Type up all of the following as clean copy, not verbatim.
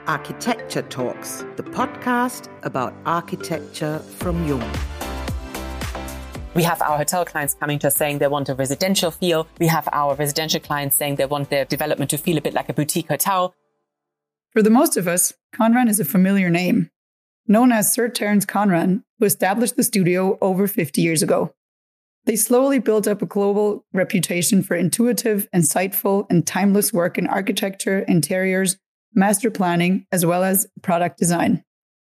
Architecture Talks, the podcast about architecture from Jung. We have our hotel clients coming to us saying they want a residential feel. We have our residential clients saying they want their development to feel a bit like a boutique hotel. For the most of us, Conran is a familiar name, known as Sir Terence Conran, who established the studio over 50 years ago. They slowly built up a global reputation for intuitive, insightful, and timeless work in architecture, interiors, master planning, as well as product design.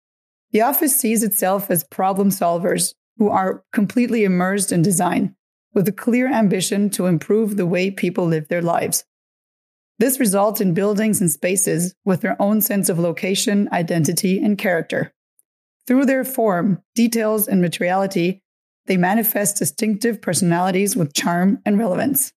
The office sees itself as problem solvers who are completely immersed in design, with a clear ambition to improve the way people live their lives. This results in buildings and spaces with their own sense of location, identity, and character. Through their form, details, and materiality, they manifest distinctive personalities with charm and relevance.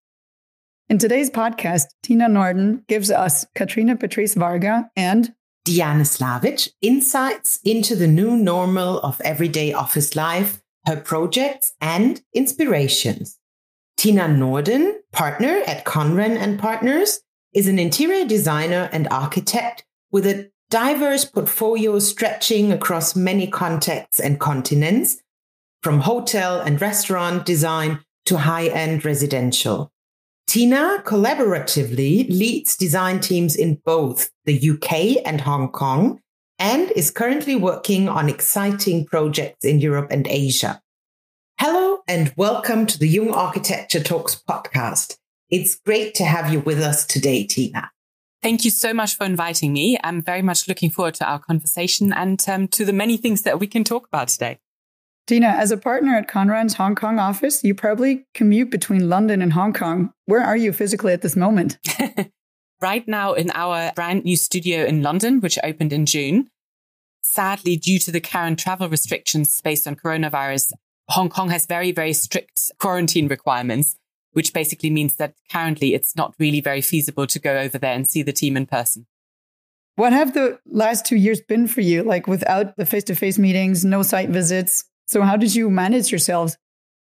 In today's podcast, Tina Norden gives us Katrina Patrice Varga and Diana Slavic insights into the new normal of everyday office life, her projects and inspirations. Tina Norden, partner at Conran and Partners, is an interior designer and architect with a diverse portfolio stretching across many contexts and continents, from hotel and restaurant design to high-end residential. Tina collaboratively leads design teams in both the UK and Hong Kong and is currently working on exciting projects in Europe and Asia. Hello and welcome to the Jung Architecture Talks podcast. It's great to have you with us today, Tina. Thank you so much for inviting me. I'm very much looking forward to our conversation and to the many things that we can talk about today. Tina, as a partner at Conran's Hong Kong office, you probably commute between London and Hong Kong. Where are you physically at this moment? Right now in our brand new studio in London, which opened in June. Sadly, due to the current travel restrictions based on coronavirus, Hong Kong has very, very strict quarantine requirements, which basically means that currently it's not really very feasible to go over there and see the team in person. What have the last 2 years been for you? Like without the face-to-face meetings, no site visits. So how did you manage yourselves?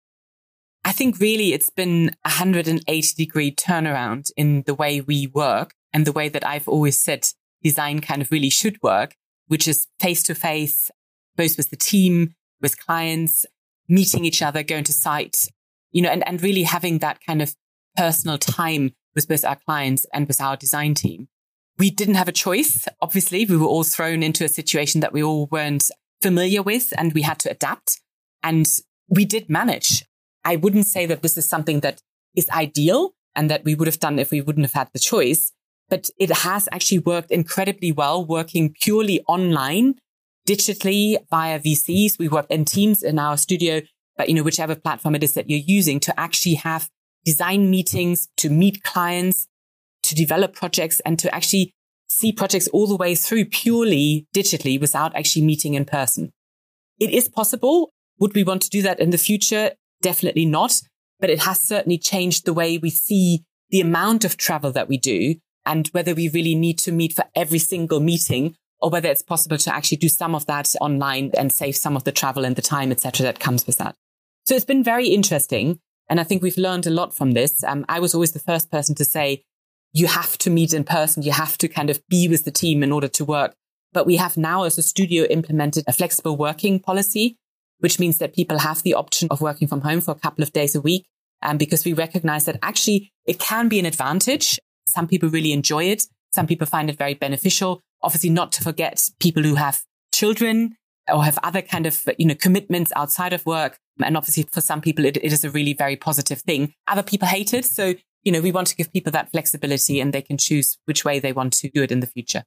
I think really it's been a 180-degree turnaround in the way we work and the way that I've always said design kind of really should work, which is face-to-face, both with the team, with clients, meeting each other, going to site, and really having that kind of personal time with both our clients and with our design team. We didn't have a choice. Obviously, we were all thrown into a situation that we all weren't familiar with, and we had to adapt. And we did manage. I wouldn't say that this is something that is ideal and that we would have done if we wouldn't have had the choice, but it has actually worked incredibly well, working purely online, digitally via VCs. We work in Teams in our studio, but whichever platform it is that you're using, to actually have design meetings, to meet clients, to develop projects, and to actually see projects all the way through purely digitally without actually meeting in person. It is possible. Would we want to do that in the future? Definitely not. But it has certainly changed the way we see the amount of travel that we do and whether we really need to meet for every single meeting or whether it's possible to actually do some of that online and save some of the travel and the time, etc., that comes with that. So it's been very interesting. And I think we've learned a lot from this. I was always the first person to say, you have to meet in person. You have to kind of be with the team in order to work. But we have now as a studio implemented a flexible working policy, which means that people have the option of working from home for a couple of days a week. Because we recognize that actually it can be an advantage. Some people really enjoy it. Some people find it very beneficial. Obviously, not to forget people who have children or have other kind of, commitments outside of work. And obviously for some people, it is a really very positive thing. Other people hate it. So we want to give people that flexibility and they can choose which way they want to do it in the future.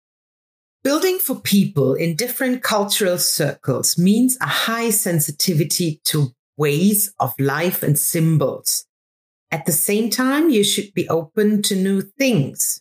Building for people in different cultural circles means a high sensitivity to ways of life and symbols. At the same time, you should be open to new things.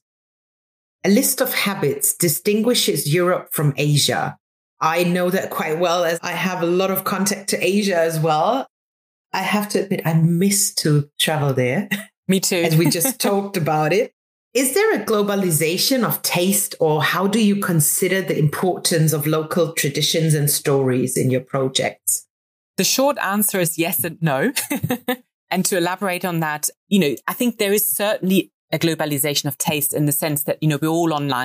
A list of habits distinguishes Europe from Asia. I know that quite well as I have a lot of contact to Asia as well. I have to admit, I miss to travel there. Me too. As we just talked about it. Is there a globalization of taste, or how do you consider the importance of local traditions and stories in your projects? The short answer is yes and no. And to elaborate on that, I think there is certainly a globalization of taste in the sense that, we're all online.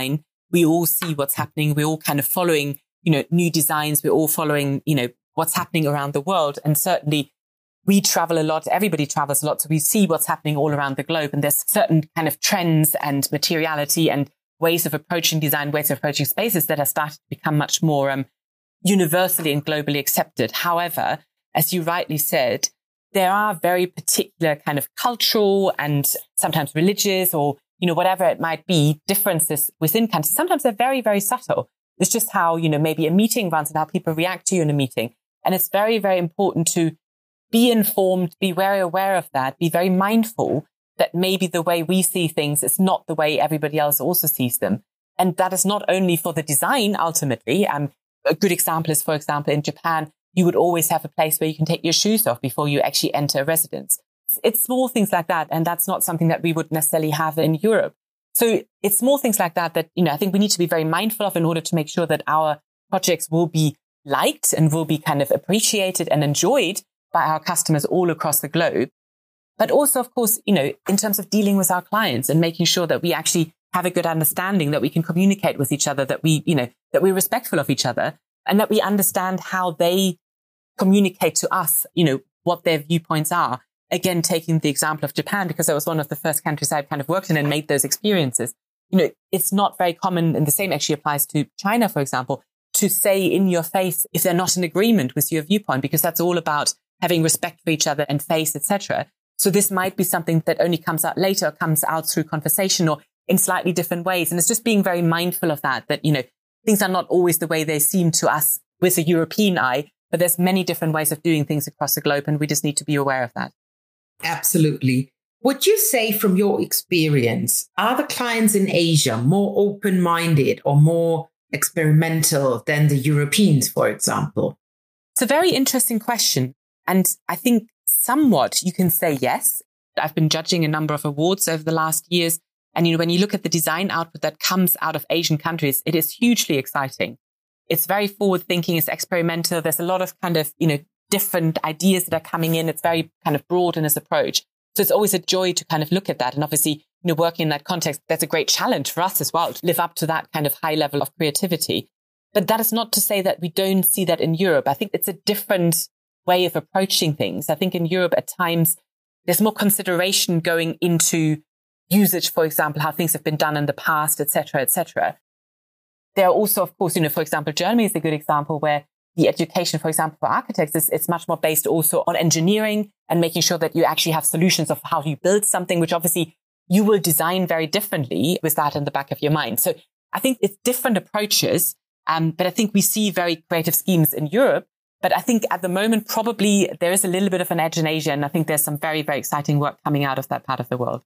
we all see what's happening. We're all kind of following, new designs. We're all following, what's happening around the world. And certainly we travel a lot. Everybody travels a lot. So we see what's happening all around the globe. And there's certain kind of trends and materiality and ways of approaching design, ways of approaching spaces that are starting to become much more universally and globally accepted. However, as you rightly said, there are very particular kind of cultural and sometimes religious or, whatever it might be, differences within countries. Sometimes they're very, very subtle. It's just how, maybe a meeting runs and how people react to you in a meeting. And it's very, very important to be informed, be very aware of that, be very mindful that maybe the way we see things is not the way everybody else also sees them. And that is not only for the design, ultimately. A good example is, for example, in Japan, you would always have a place where you can take your shoes off before you actually enter a residence. It's small things like that. And that's not something that we would necessarily have in Europe. So it's small things like that, I think we need to be very mindful of in order to make sure that our projects will be liked and will be kind of appreciated and enjoyed by our customers all across the globe. But also, of course, in terms of dealing with our clients and making sure that we actually have a good understanding, that we can communicate with each other, that that we're respectful of each other and that we understand how they communicate to us, what their viewpoints are. Again, taking the example of Japan, because that was one of the first countries I've kind of worked in and made those experiences. It's not very common, and the same actually applies to China, for example, to say in your face if they're not in agreement with your viewpoint, because that's all about having respect for each other and face, etc. So this might be something that only comes out later, or comes out through conversation or in slightly different ways. And it's just being very mindful of that, things are not always the way they seem to us with a European eye, but there's many different ways of doing things across the globe. And we just need to be aware of that. Absolutely. Would you say from your experience, are the clients in Asia more open-minded or more experimental than the Europeans, for example? It's a very interesting question. And I think somewhat you can say yes. I've been judging a number of awards over the last years. And, when you look at the design output that comes out of Asian countries, it is hugely exciting. It's very forward thinking. It's experimental. There's a lot of kind of, different ideas that are coming in. It's very kind of broad in its approach. So it's always a joy to kind of look at that. And obviously, working in that context, that's a great challenge for us as well to live up to that kind of high level of creativity. But that is not to say that we don't see that in Europe. I think it's a different way of approaching things. I think in Europe at times, there's more consideration going into usage, for example, how things have been done in the past, et cetera, et cetera. There are also, of course, for example, Germany is a good example where the education, for example, for architects it's much more based also on engineering and making sure that you actually have solutions of how you build something, which obviously you will design very differently with that in the back of your mind. So I think it's different approaches. But I think we see very creative schemes in Europe. But I think at the moment, probably there is a little bit of an edge in Asia. And I think there's some very, very exciting work coming out of that part of the world.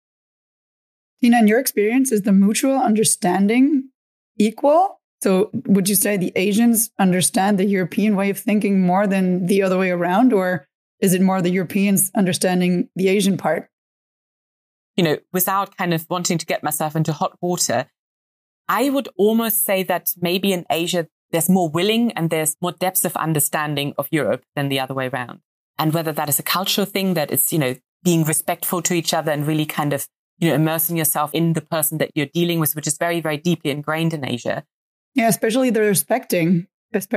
Tina, in your experience, is the mutual understanding equal? So would you say the Asians understand the European way of thinking more than the other way around? Or is it more the Europeans understanding the Asian part? Without kind of wanting to get myself into hot water, I would almost say that maybe in Asia, there's more willing and there's more depth of understanding of Europe than the other way around. And whether that is a cultural thing, that it's, being respectful to each other and really kind of, immersing yourself in the person that you're dealing with, which is very, very deeply ingrained in Asia. Yeah, especially the respecting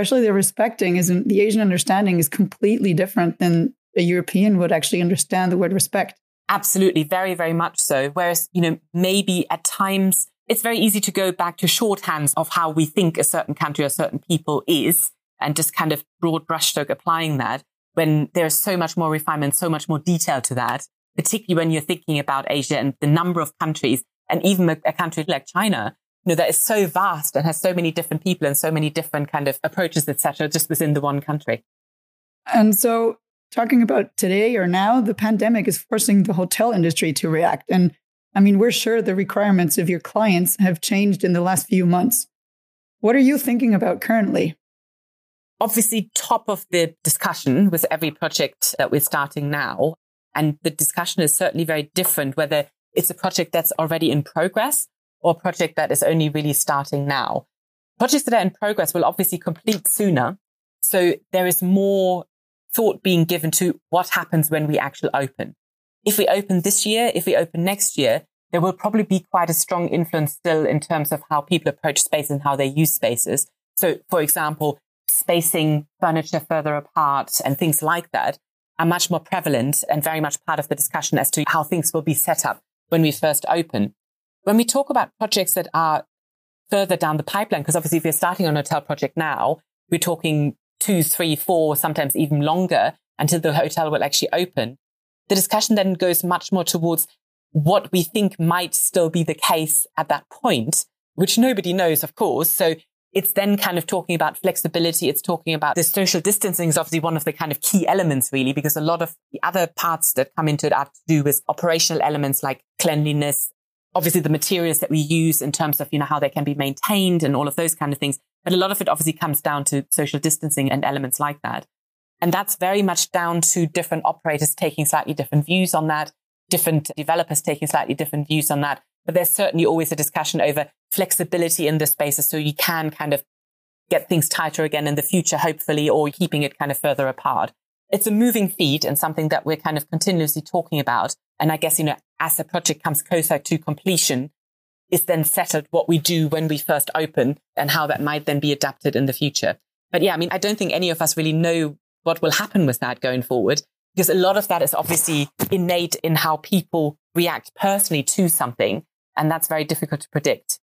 isn't the Asian understanding is completely different than a European would actually understand the word respect. Absolutely. Very, very much so. Whereas, maybe at times it's very easy to go back to shorthands of how we think a certain country or certain people is and just kind of broad brushstroke applying that when there's so much more refinement, so much more detail to that, particularly when you're thinking about Asia and the number of countries and even a country like China, that is so vast and has so many different people and so many different kind of approaches, etc., just within the one country. And so talking about today or now, the pandemic is forcing the hotel industry to react. And I mean, we're sure the requirements of your clients have changed in the last few months. What are you thinking about currently? Obviously, top of the discussion with every project that we're starting now. And the discussion is certainly very different, whether it's a project that's already in progress or a project that is only really starting now. Projects that are in progress will obviously complete sooner. So there is more thought being given to what happens when we actually open. If we open this year, if we open next year, there will probably be quite a strong influence still in terms of how people approach space and how they use spaces. So, for example, spacing furniture further apart and things like that are much more prevalent and very much part of the discussion as to how things will be set up when we first open. When we talk about projects that are further down the pipeline, because obviously if you're starting on a hotel project now, we're talking 2, 3, 4, sometimes even longer until the hotel will actually open. The discussion then goes much more towards what we think might still be the case at that point, which nobody knows, of course. So it's then kind of talking about flexibility. It's talking about the social distancing is obviously one of the kind of key elements, really, because a lot of the other parts that come into it have to do with operational elements like cleanliness, obviously the materials that we use in terms of, how they can be maintained and all of those kind of things. But a lot of it obviously comes down to social distancing and elements like that. And that's very much down to different operators taking slightly different views on that, different developers taking slightly different views on that. But there's certainly always a discussion over flexibility in the spaces so you can kind of get things tighter again in the future, hopefully, or keeping it kind of further apart. It's a moving feed and something that we're kind of continuously talking about. And I guess, as the project comes closer to completion, is then settled what we do when we first open and how that might then be adapted in the future. But yeah, I don't think any of us really know what will happen with that going forward, because a lot of that is obviously innate in how people react personally to something. And that's very difficult to predict.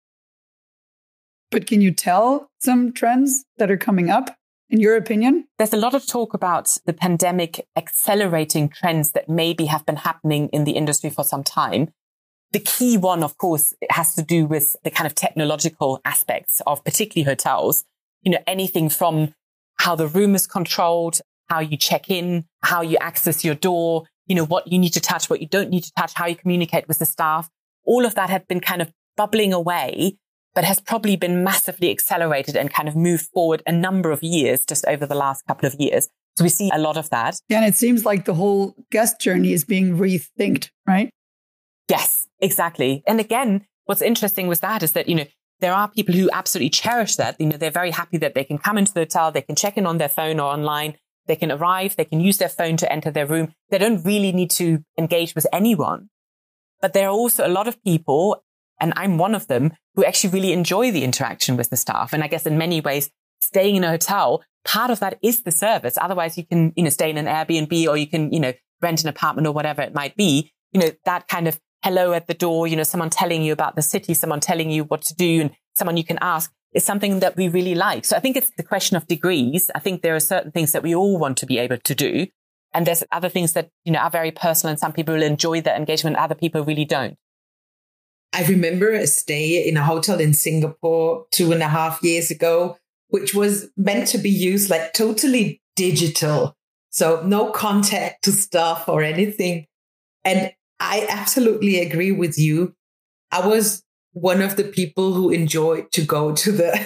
But can you tell some trends that are coming up, in your opinion? There's a lot of talk about the pandemic accelerating trends that maybe have been happening in the industry for some time. The key one, of course, has to do with the kind of technological aspects of particularly hotels. Anything from how the room is controlled, how you check in, how you access your door, what you need to touch, what you don't need to touch, how you communicate with the staff. All of that had been kind of bubbling away, but has probably been massively accelerated and kind of moved forward a number of years just over the last couple of years. So we see a lot of that. Yeah, and it seems like the whole guest journey is being rethinked, right? Yes, exactly. And again, what's interesting with that is that, there are people who absolutely cherish that. They're very happy that they can come into the hotel, they can check in on their phone or online, they can arrive, they can use their phone to enter their room. They don't really need to engage with anyone. But there are also a lot of people, and I'm one of them, who actually really enjoy the interaction with the staff. And I guess in many ways, staying in a hotel, part of that is the service. Otherwise, you can, stay in an Airbnb or you can, rent an apartment or whatever it might be. That kind of hello at the door, someone telling you about the city, someone telling you what to do and someone you can ask is something that we really like. So I think it's the question of degrees. I think there are certain things that we all want to be able to do. And there's other things that, are very personal and some people will enjoy that engagement. Other people really don't. I remember a stay in a hotel in Singapore 2.5 years ago, which was meant to be used like totally digital. So no contact to staff or anything. And I absolutely agree with you. I was one of the people who enjoyed to go to the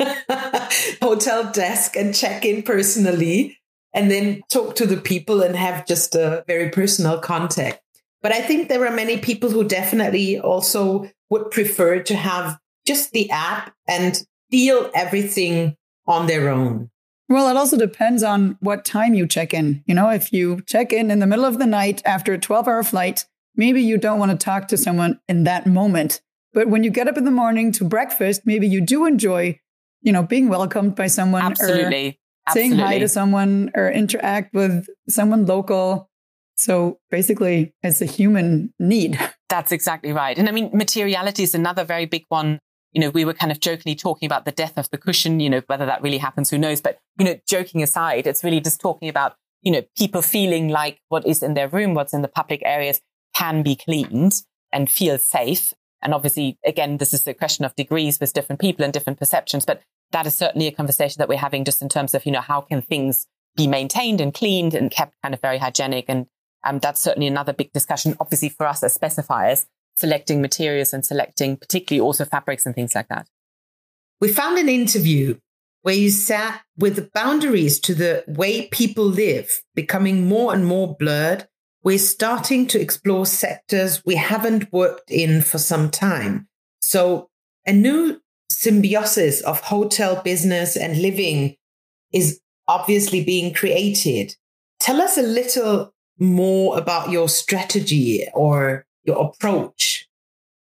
hotel desk and check in personally and then talk to the people and have just a very personal contact. But I think there are many people who definitely also would prefer to have just the app and feel everything on their own. Well, it also depends on what time you check in. If you check in the middle of the night after a 12-hour flight, maybe you don't want to talk to someone in that moment. But when you get up in the morning to breakfast, maybe you do enjoy, being welcomed by someone. Absolutely. Or saying hi to someone or interact with someone local. So basically, it's a human need. That's exactly right. And materiality is another very big one. We were kind of jokingly talking about the death of the cushion, whether that really happens, who knows? But, joking aside, it's really just talking about, people feeling like what is in their room, what's in the public areas can be cleaned and feel safe. And obviously, again, this is a question of degrees with different people and different perceptions. But that is certainly a conversation that we're having just in terms of, how can things be maintained and cleaned and kept kind of very hygienic. And that's certainly another big discussion, obviously, for us as specifiers, selecting materials and selecting particularly also fabrics and things like that. We found an interview where you sat with the boundaries to the way people live becoming more and more blurred. We're starting to explore sectors we haven't worked in for some time. So a new symbiosis of hotel business and living is obviously being created. Tell us a little more about your strategy or your approach.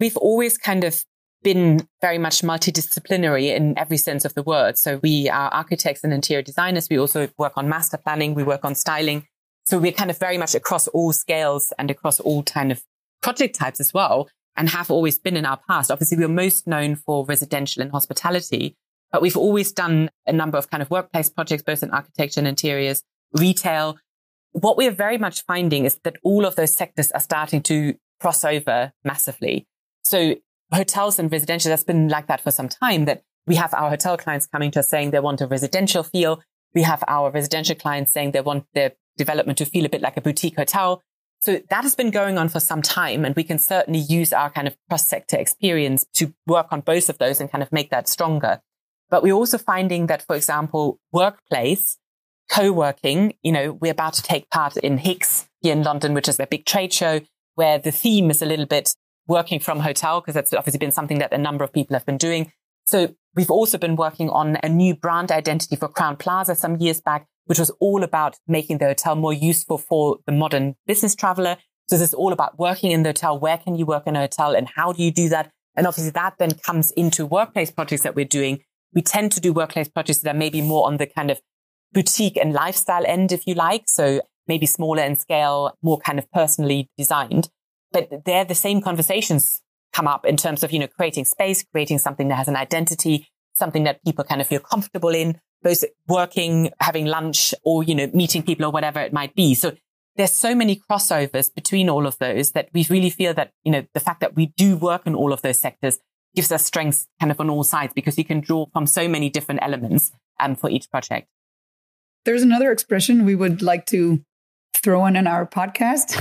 we've always kind of been very much multidisciplinary in every sense of the word. So we are architects and interior designers. We also work on master planning. We work on styling. So we're kind of very much across all scales and across all kind of project types as well, and have always been in our past. Obviously, we're most known for residential and hospitality, but we've always done a number of kind of workplace projects, both in architecture and interiors, retail. What we're very much finding is that all of those sectors are starting to cross over massively. So hotels and residential, that's been like that for some time, that we have our hotel clients coming to us saying they want a residential feel. We have our residential clients saying they want their development to feel a bit like a boutique hotel. So that has been going on for some time, and we can certainly use our kind of cross-sector experience to work on both of those and kind of make that stronger. But we're also finding that, for example, workplace, co-working, we're about to take part in HICS here in London, which is a big trade show where the theme is a little bit working from hotel, because that's obviously been something that a number of people have been doing. So we've also been working on a new brand identity for Crowne Plaza some years back, which was all about making the hotel more useful for the modern business traveler. So this is all about working in the hotel. Where can you work in a hotel and how do you do that? And obviously that then comes into workplace projects that we're doing. We tend to do workplace projects that are maybe more on the kind of boutique and lifestyle end, if you like. So maybe smaller in scale, more kind of personally designed. But there, the same conversations come up in terms of, creating space, creating something that has an identity, something that people kind of feel comfortable in, both working, having lunch, or, meeting people or whatever it might be. So there's so many crossovers between all of those that we really feel that, the fact that we do work in all of those sectors gives us strengths kind of on all sides, because you can draw from so many different elements for each project. There's another expression we would like to throw in our podcast.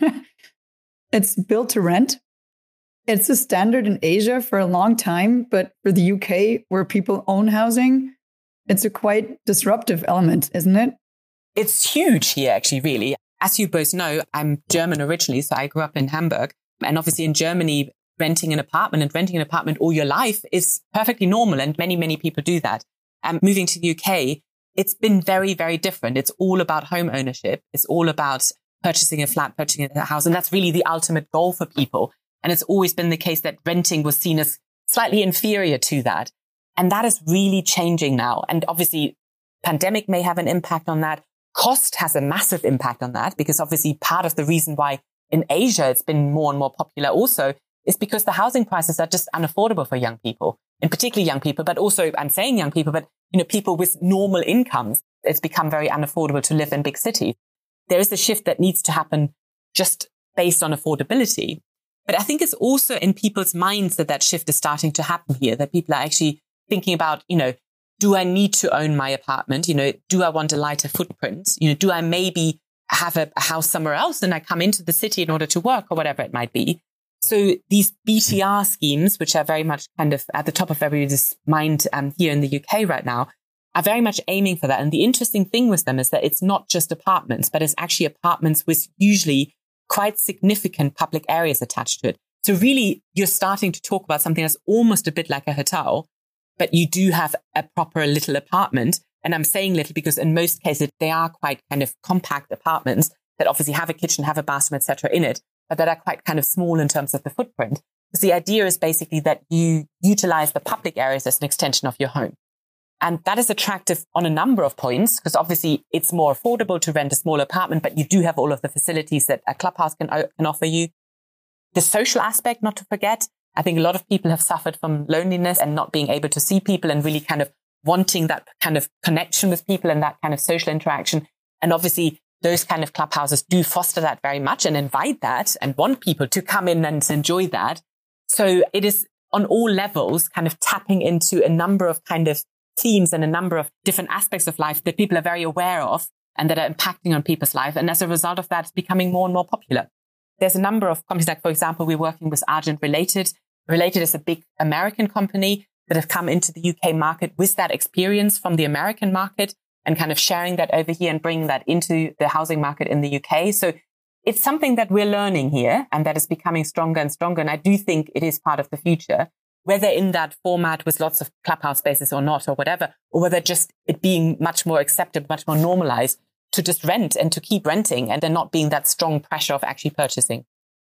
It's built to rent. It's a standard in Asia for a long time, but for the UK, where people own housing, it's a quite disruptive element, isn't it? It's huge here, actually, really. As you both know, I'm German originally, so I grew up in Hamburg. And obviously in Germany, renting an apartment all your life is perfectly normal. And many, many people do that. Moving to the UK, it's been very, very different. It's all about home ownership. It's all about purchasing a flat, purchasing a house. And that's really the ultimate goal for people. And it's always been the case that renting was seen as slightly inferior to that. And that is really changing now. And obviously, pandemic may have an impact on that. Cost has a massive impact on that, because obviously part of the reason why in Asia it's been more and more popular also is because the housing prices are just unaffordable for young people, and particularly young people, but also, I'm saying young people, but people with normal incomes. It's become very unaffordable to live in big cities. There is a shift that needs to happen just based on affordability. But I think it's also in people's minds that shift is starting to happen here, that people are actually thinking about, do I need to own my apartment? Do I want a lighter footprint? Do I maybe have a house somewhere else and I come into the city in order to work or whatever it might be? So these BTR schemes, which are very much kind of at the top of everybody's mind here in the UK right now, are very much aiming for that. And the interesting thing with them is that it's not just apartments, but it's actually apartments with usually quite significant public areas attached to it. So really, you're starting to talk about something that's almost a bit like a hotel, but you do have a proper little apartment. And I'm saying little because in most cases, they are quite kind of compact apartments that obviously have a kitchen, have a bathroom, etc. in it, but that are quite kind of small in terms of the footprint. Because the idea is basically that you utilize the public areas as an extension of your home. And that is attractive on a number of points, because obviously it's more affordable to rent a small apartment, but you do have all of the facilities that a clubhouse can offer you. The social aspect, not to forget. I think a lot of people have suffered from loneliness and not being able to see people and really kind of wanting that kind of connection with people and that kind of social interaction. And obviously those kind of clubhouses do foster that very much and invite that and want people to come in and enjoy that. So it is on all levels kind of tapping into a number of kind of themes and a number of different aspects of life that people are very aware of and that are impacting on people's life. And as a result of that, it's becoming more and more popular. There's a number of companies, like, for example, we're working with Argent Related. Related is a big American company that have come into the UK market with that experience from the American market and kind of sharing that over here and bringing that into the housing market in the UK. So it's something that we're learning here and that is becoming stronger and stronger. And I do think it is part of the future, whether in that format with lots of clubhouse spaces or not, or whatever, or whether just it being much more accepted, much more normalized to just rent and to keep renting and there not being that strong pressure of actually purchasing.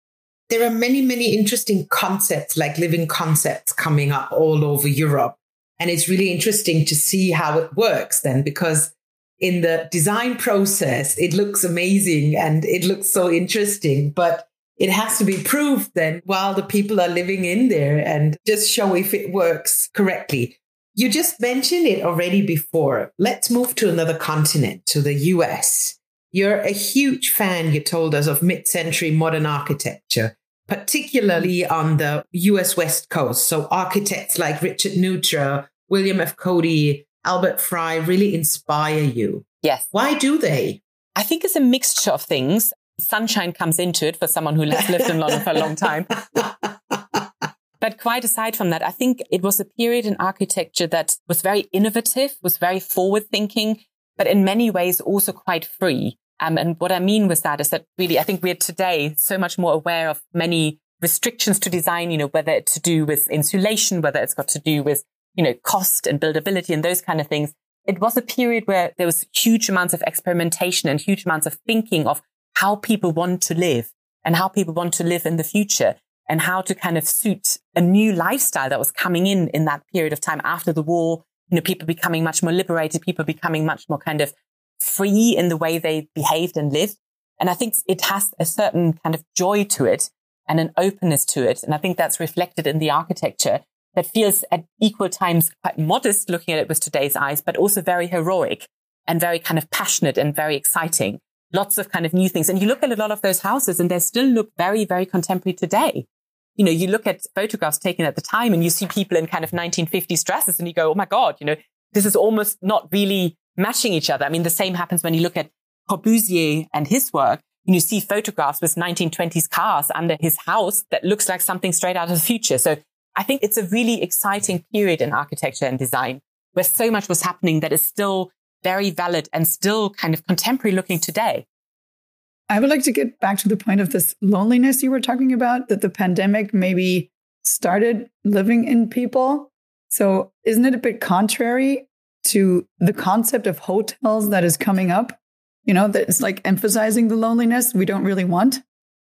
there are many, many interesting concepts, like living concepts coming up all over Europe. And it's really interesting to see how it works then, because in the design process, it looks amazing and it looks so interesting, but it has to be proved then while the people are living in there and just show if it works correctly. You just mentioned it already before. Let's move to another continent, to the US. You're a huge fan, you told us, of mid-century modern architecture, particularly on the US West Coast. So architects like Richard Neutra, William F. Cody, Albert Frey really inspire you. Yes. Why do they? I think it's a mixture of things. Sunshine comes into it for someone who has lived in London for a long time. But quite aside from that, I think it was a period in architecture that was very innovative, was very forward-thinking, but in many ways also quite free. And what I mean with that is that really, I think we're today so much more aware of many restrictions to design, whether it's to do with insulation, whether it's got to do with, cost and buildability and those kind of things. It was a period where there was huge amounts of experimentation and huge amounts of thinking of how people want to live and how people want to live in the future and how to kind of suit a new lifestyle that was coming in that period of time after the war. People becoming much more liberated, people becoming much more kind of free in the way they behaved and lived. And I think it has a certain kind of joy to it and an openness to it. And I think that's reflected in the architecture that feels at equal times quite modest looking at it with today's eyes, but also very heroic and very kind of passionate and very exciting. Lots of kind of new things. And you look at a lot of those houses and they still look very, very contemporary today. You look at photographs taken at the time and you see people in kind of 1950s dresses and you go, oh my God, this is almost not really matching each other. I mean, the same happens when you look at Corbusier and his work. You see photographs with 1920s cars under his house that looks like something straight out of the future. So I think it's a really exciting period in architecture and design where so much was happening that is still very valid and still kind of contemporary looking today. I would like to get back to the point of this loneliness you were talking about, that the pandemic maybe started living in people. So isn't it a bit contrary to the concept of hotels that is coming up? That it's like emphasizing the loneliness we don't really want.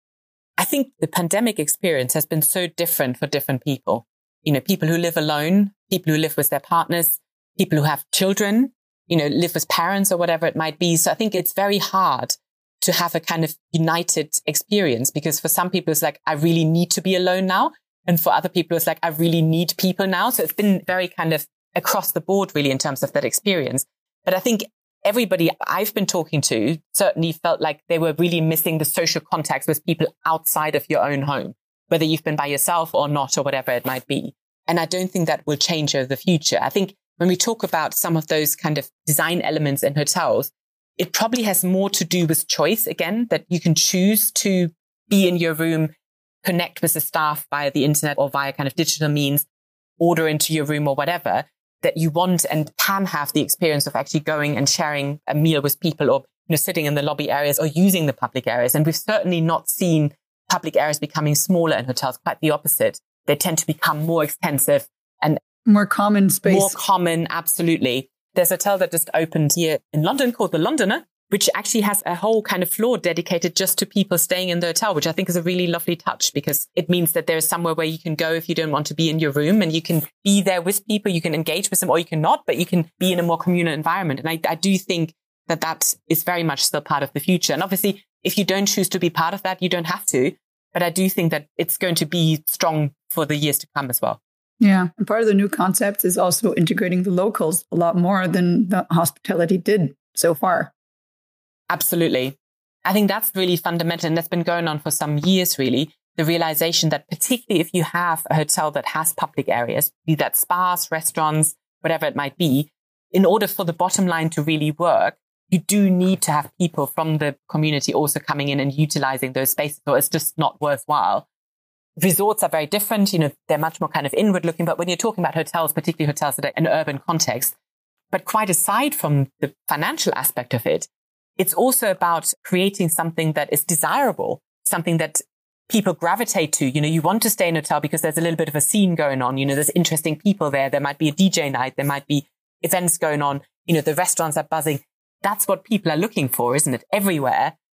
I think the pandemic experience has been so different for different people. People who live alone, people who live with their partners, people who have children, live with parents or whatever it might be. So I think it's very hard to have a kind of united experience because for some people it's like, I really need to be alone now. And for other people, it's like, I really need people now. So it's been very kind of across the board really in terms of that experience. But I think everybody I've been talking to certainly felt like they were really missing the social contacts with people outside of your own home, whether you've been by yourself or not, or whatever it might be. And I don't think that will change over the future. I think when we talk about some of those kind of design elements in hotels, it probably has more to do with choice again, that you can choose to be in your room, connect with the staff via the internet or via kind of digital means, order into your room or whatever, that you want and can have the experience of actually going and sharing a meal with people or sitting in the lobby areas or using the public areas. And we've certainly not seen public areas becoming smaller in hotels, quite the opposite. They tend to become more extensive and more common space. More common, absolutely. There's a hotel that just opened here in London called The Londoner, which actually has a whole kind of floor dedicated just to people staying in the hotel, which I think is a really lovely touch because it means that there is somewhere where you can go if you don't want to be in your room and you can be there with people, you can engage with them or you cannot, but you can be in a more communal environment. And I do think that is very much still part of the future. And obviously, if you don't choose to be part of that, you don't have to. But I do think that it's going to be strong for the years to come as well. Yeah. And part of the new concept is also integrating the locals a lot more than the hospitality did so far. Absolutely. I think that's really fundamental. And that's been going on for some years, really. The realization that particularly if you have a hotel that has public areas, be that spas, restaurants, whatever it might be, in order for the bottom line to really work, you do need to have people from the community also coming in and utilizing those spaces, or it's just not worthwhile. Resorts are very different. They're much more kind of inward looking. But when you're talking about hotels, particularly hotels that are in an urban context, but quite aside from the financial aspect of it, it's also about creating something that is desirable, something that people gravitate to. You want to stay in a hotel because there's a little bit of a scene going on. There's interesting people there. There might be a DJ night. There might be events going on. The restaurants are buzzing. That's what people are looking for, isn't it? Everywhere.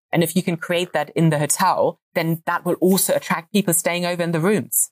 And if you can create that in the hotel, then that will also attract people staying over in the rooms.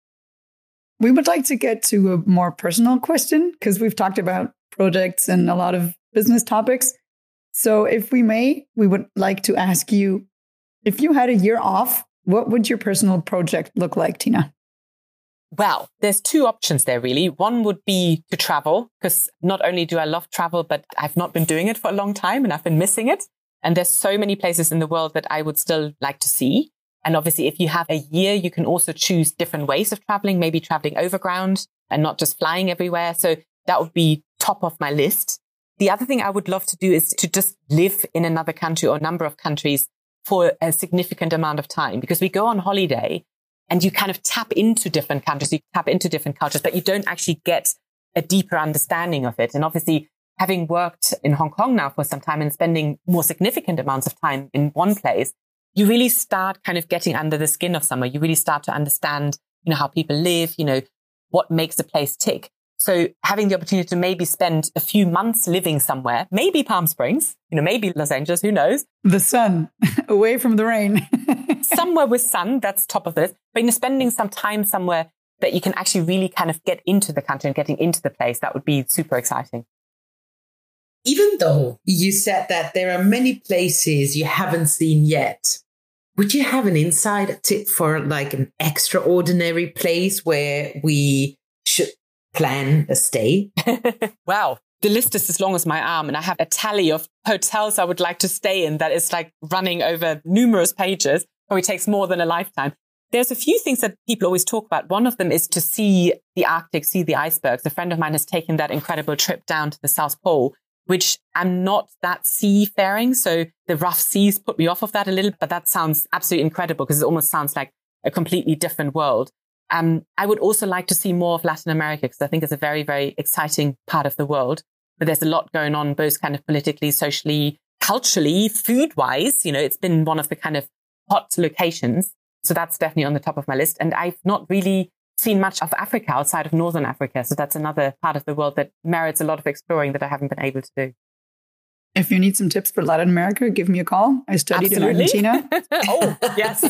We would like to get to a more personal question because we've talked about projects and a lot of business topics. So if we may, we would like to ask you, if you had a year off, what would your personal project look like, Tina? Well, there's two options there, really. One would be to travel, because not only do I love travel, but I've not been doing it for a long time and I've been missing it. And there's so many places in the world that I would still like to see. And obviously, if you have a year, you can also choose different ways of traveling, maybe traveling overground and not just flying everywhere. So that would be top of my list. The other thing I would love to do is to just live in another country or a number of countries for a significant amount of time, because we go on holiday and you kind of tap into different countries, you tap into different cultures, but you don't actually get a deeper understanding of it. And obviously, having worked in Hong Kong now for some time and spending more significant amounts of time in one place, you really start kind of getting under the skin of somewhere. You really start to understand, how people live, what makes a place tick. So having the opportunity to maybe spend a few months living somewhere, maybe Palm Springs, maybe Los Angeles, who knows? The sun, away from the rain. Somewhere with sun, that's top of the list. But spending some time somewhere that you can actually really kind of get into the country and getting into the place, that would be super exciting. Even though you said that there are many places you haven't seen yet, would you have an inside tip for like an extraordinary place where we should plan a stay? Wow. The list is as long as my arm, and I have a tally of hotels I would like to stay in that is like running over numerous pages. Probably takes more than a lifetime. There's a few things that people always talk about. One of them is to see the Arctic, see the icebergs. A friend of mine has taken that incredible trip down to the South Pole, which I'm not that seafaring. So the rough seas put me off of that a little, but that sounds absolutely incredible because it almost sounds like a completely different world. I would also like to see more of Latin America because I think it's a very, very exciting part of the world. But there's a lot going on, both kind of politically, socially, culturally, food-wise. It's been one of the kind of hot locations. So that's definitely on the top of my list. And I've not really seen much of Africa outside of Northern Africa. So that's another part of the world that merits a lot of exploring that I haven't been able to do. If you need some tips for Latin America, give me a call. I studied in Argentina. Oh, yes.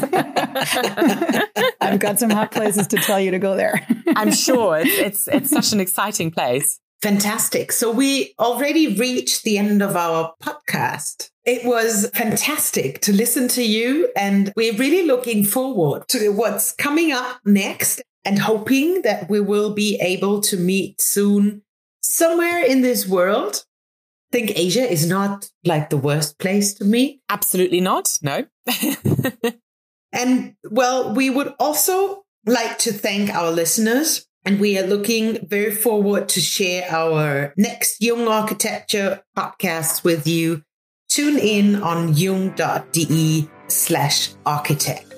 I've got some hot places to tell you to go there. I'm sure it's such an exciting place. Fantastic. So we already reached the end of our podcast. It was fantastic to listen to you, and we're really looking forward to what's coming up next and hoping that we will be able to meet soon somewhere in this world. I think Asia is not like the worst place to meet. Absolutely not. No. And well, we would also like to thank our listeners. And we are looking very forward to share our next Jung Architecture podcast with you. Tune in on jung.de/architect.